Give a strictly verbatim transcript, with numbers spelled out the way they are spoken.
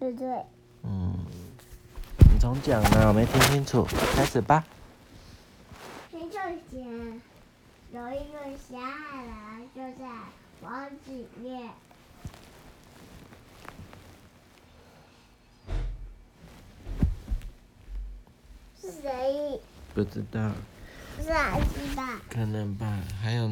對對。 嗯，你重講呢，我沒聽清楚，開始吧。 很久以前，有一個小矮人就在房子裡面。是誰？ 不知道。 不是阿基吧？ 可能吧，還有。